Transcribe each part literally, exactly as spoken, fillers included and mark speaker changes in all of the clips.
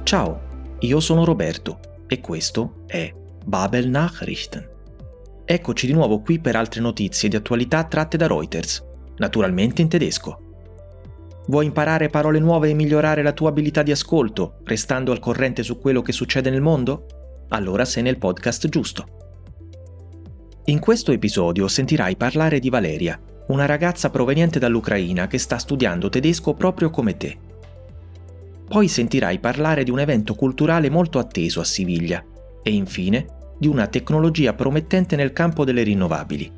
Speaker 1: Ciao, io sono Roberto e questo è Babel Nachrichten. Eccoci di nuovo qui per altre notizie di attualità tratte da Reuters, naturalmente in tedesco. Vuoi imparare parole nuove e migliorare la tua abilità di ascolto, restando al corrente su quello che succede nel mondo? Allora sei nel podcast giusto. In questo episodio sentirai parlare di Valeria, una ragazza proveniente dall'Ucraina che sta studiando tedesco proprio come te. Poi sentirai parlare di un evento culturale molto atteso a Siviglia e infine di una tecnologia promettente nel campo delle rinnovabili.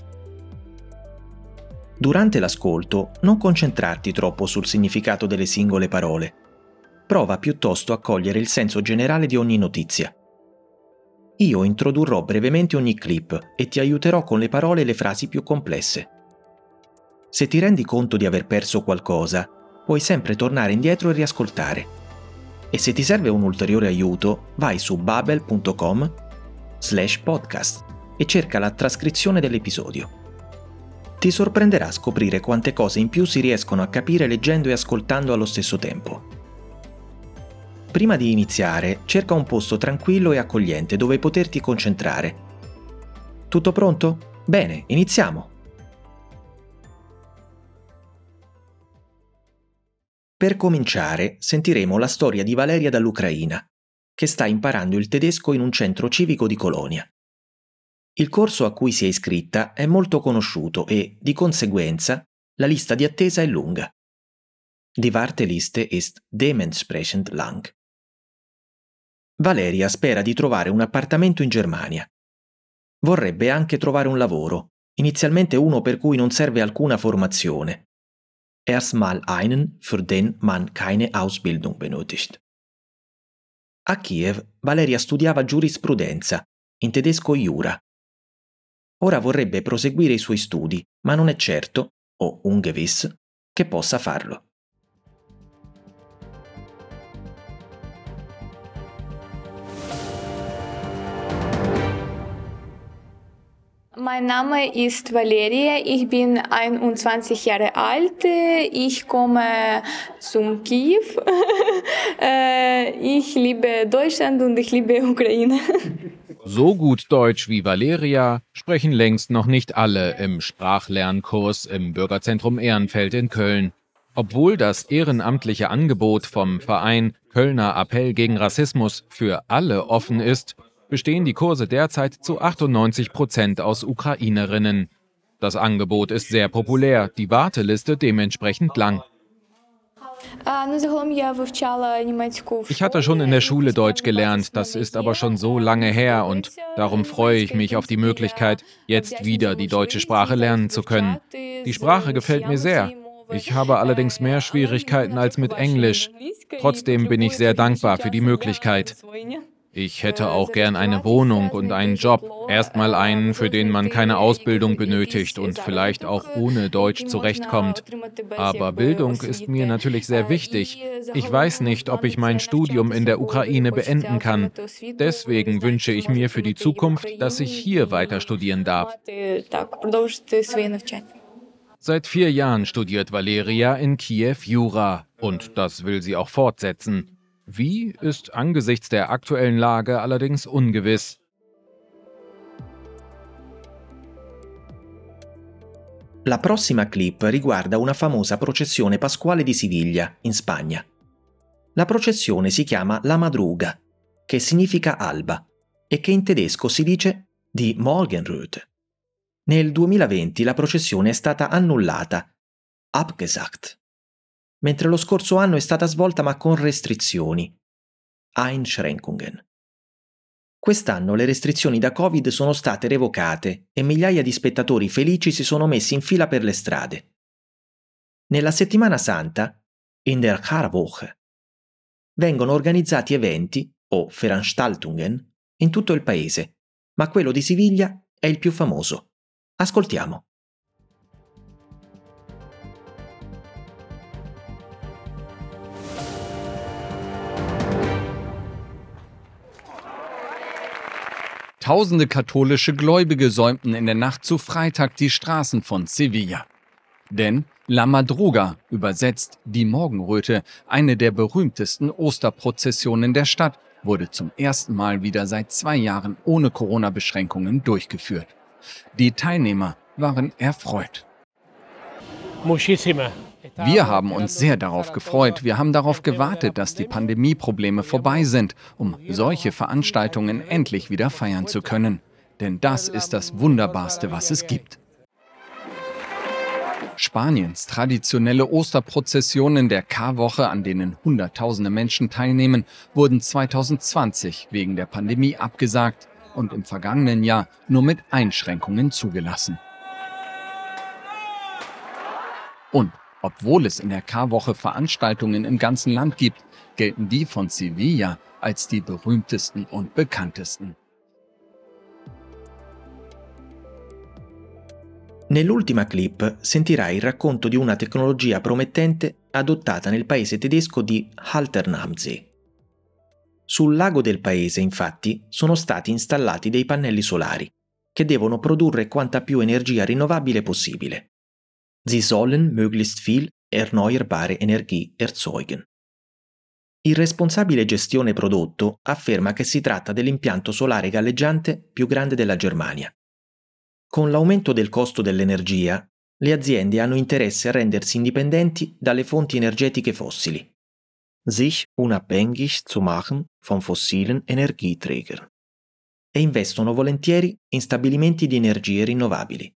Speaker 1: Durante l'ascolto non concentrarti troppo sul significato delle singole parole. Prova piuttosto a cogliere il senso generale di ogni notizia. Io introdurrò brevemente ogni clip e ti aiuterò con le parole e le frasi più complesse. Se ti rendi conto di aver perso qualcosa, puoi sempre tornare indietro e riascoltare. E se ti serve un ulteriore aiuto, vai su babel punto com slash podcast e cerca la trascrizione dell'episodio. Ti sorprenderà scoprire quante cose in più si riescono a capire leggendo e ascoltando allo stesso tempo. Prima di iniziare, cerca un posto tranquillo e accogliente dove poterti concentrare. Tutto pronto? Bene, iniziamo! Per cominciare, sentiremo la storia di Valeria dall'Ucraina, che sta imparando il tedesco in un centro civico di Colonia. Il corso a cui si è iscritta è molto conosciuto e, di conseguenza, la lista di attesa è lunga. Die Warteliste ist dementsprechend lang. Valeria spera di trovare un appartamento in Germania. Vorrebbe anche trovare un lavoro, inizialmente uno per cui non serve alcuna formazione. Erstmal einen, für den man keine Ausbildung benötigt. A Kiev, Valeria studiava giurisprudenza, in tedesco Jura. Ora vorrebbe proseguire i suoi studi, ma non è certo, o ungewiss, che possa farlo.
Speaker 2: Mein Name ist Valeria, ich bin einundzwanzig Jahre alt, ich komme zum Kiew, ich liebe Deutschland und ich liebe Ukraine.
Speaker 3: So gut Deutsch wie Valeria sprechen längst noch nicht alle im Sprachlernkurs im Bürgerzentrum Ehrenfeld in Köln. Obwohl das ehrenamtliche Angebot vom Verein Kölner Appell gegen Rassismus für alle offen ist, bestehen die Kurse derzeit zu achtundneunzig Prozent aus Ukrainerinnen. Das Angebot ist sehr populär, die Warteliste dementsprechend lang. Ich hatte schon in der Schule Deutsch gelernt, das ist aber schon so lange her und darum freue ich mich auf die Möglichkeit, jetzt wieder die deutsche Sprache lernen zu können. Die Sprache gefällt mir sehr. Ich habe allerdings mehr Schwierigkeiten als mit Englisch. Trotzdem bin ich sehr dankbar für die Möglichkeit. Ich hätte auch gern eine Wohnung und einen Job. Erstmal einen, für den man keine Ausbildung benötigt und vielleicht auch ohne Deutsch zurechtkommt. Aber Bildung ist mir natürlich sehr wichtig. Ich weiß nicht, ob ich mein Studium in der Ukraine beenden kann. Deswegen wünsche ich mir für die Zukunft, dass ich hier weiter studieren darf. Seit vier Jahren studiert Valeria in Kiew Jura und das will sie auch fortsetzen. Wie, ist angesichts der aktuellen Lage allerdings ungewiss.
Speaker 1: La prossima clip riguarda una famosa processione pasquale di Siviglia, in Spagna. La processione si chiama La Madruga, che significa alba, e che in tedesco si dice die Morgenröte. Nel duemilaventi la processione è stata annullata, abgesagt, mentre lo scorso anno è stata svolta ma con restrizioni, Einschränkungen. Quest'anno le restrizioni da Covid sono state revocate e migliaia di spettatori felici si sono messi in fila per le strade. Nella settimana santa, in der Karwoche, vengono organizzati eventi, o Veranstaltungen, in tutto il paese, ma quello di Siviglia è il più famoso. Ascoltiamo.
Speaker 4: Tausende katholische Gläubige säumten in der Nacht zu Freitag die Straßen von Sevilla. Denn La Madruga, übersetzt die Morgenröte, eine der berühmtesten Osterprozessionen der Stadt, wurde zum ersten Mal wieder seit zwei Jahren ohne Corona-Beschränkungen durchgeführt. Die Teilnehmer waren erfreut. Wir haben uns sehr darauf gefreut. Wir haben darauf gewartet, dass die Pandemieprobleme vorbei sind, um solche Veranstaltungen endlich wieder feiern zu können. Denn das ist das Wunderbarste, was es gibt. Spaniens traditionelle Osterprozessionen der Karwoche, an denen Hunderttausende Menschen teilnehmen, wurden zwanzig zwanzig wegen der Pandemie abgesagt und im vergangenen Jahr nur mit Einschränkungen zugelassen. Und obwohl es in der Karwoche Veranstaltungen im ganzen Land gibt, gelten die von Sevilla als die berühmtesten und bekanntesten.
Speaker 1: Nell'ultima clip sentirai il racconto di una tecnologia promettente adottata nel paese tedesco di Haltern am See. Sul lago del paese, infatti, sono stati installati dei pannelli solari che devono produrre quanta più energia rinnovabile possibile. Sie sollen möglichst viel erneuerbare Energie erzeugen. Il responsabile gestione prodotto afferma che si tratta dell'impianto solare galleggiante più grande della Germania. Con l'aumento del costo dell'energia, le aziende hanno interesse a rendersi indipendenti dalle fonti energetiche fossili. Sich unabhängig zu machen von fossilen Energieträgern. E investono volentieri in stabilimenti di energie rinnovabili.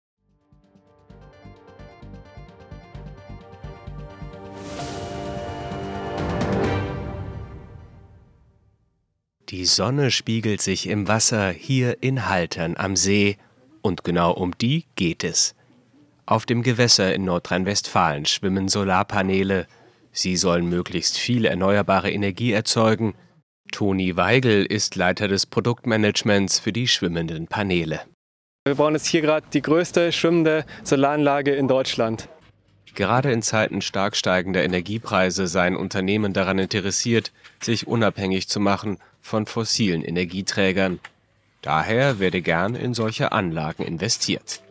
Speaker 5: Die Sonne spiegelt sich im Wasser hier in Haltern am See. Und genau um die geht es. Auf dem Gewässer in Nordrhein-Westfalen schwimmen Solarpaneele. Sie sollen möglichst viel erneuerbare Energie erzeugen. Toni Weigel ist Leiter des Produktmanagements für die schwimmenden Paneele.
Speaker 6: Wir bauen jetzt hier gerade die größte schwimmende Solaranlage in Deutschland.
Speaker 5: Gerade in Zeiten stark steigender Energiepreise seien Unternehmen daran interessiert, sich unabhängig zu machen von fossilen Energieträgern. Daher werde gern in solche Anlagen investiert.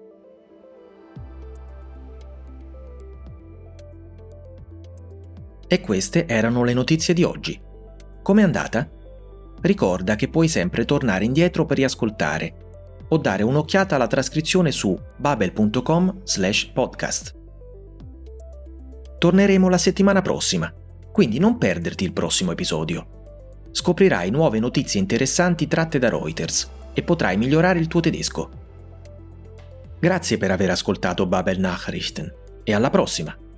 Speaker 1: E queste erano le notizie di oggi. Com'è andata? Ricorda che puoi sempre tornare indietro per riascoltare o dare un'occhiata alla trascrizione su babel punto com slash podcast. Torneremo la settimana prossima, quindi non perderti il prossimo episodio. Scoprirai nuove notizie interessanti tratte da Reuters e potrai migliorare il tuo tedesco. Grazie per aver ascoltato Babel Nachrichten e alla prossima!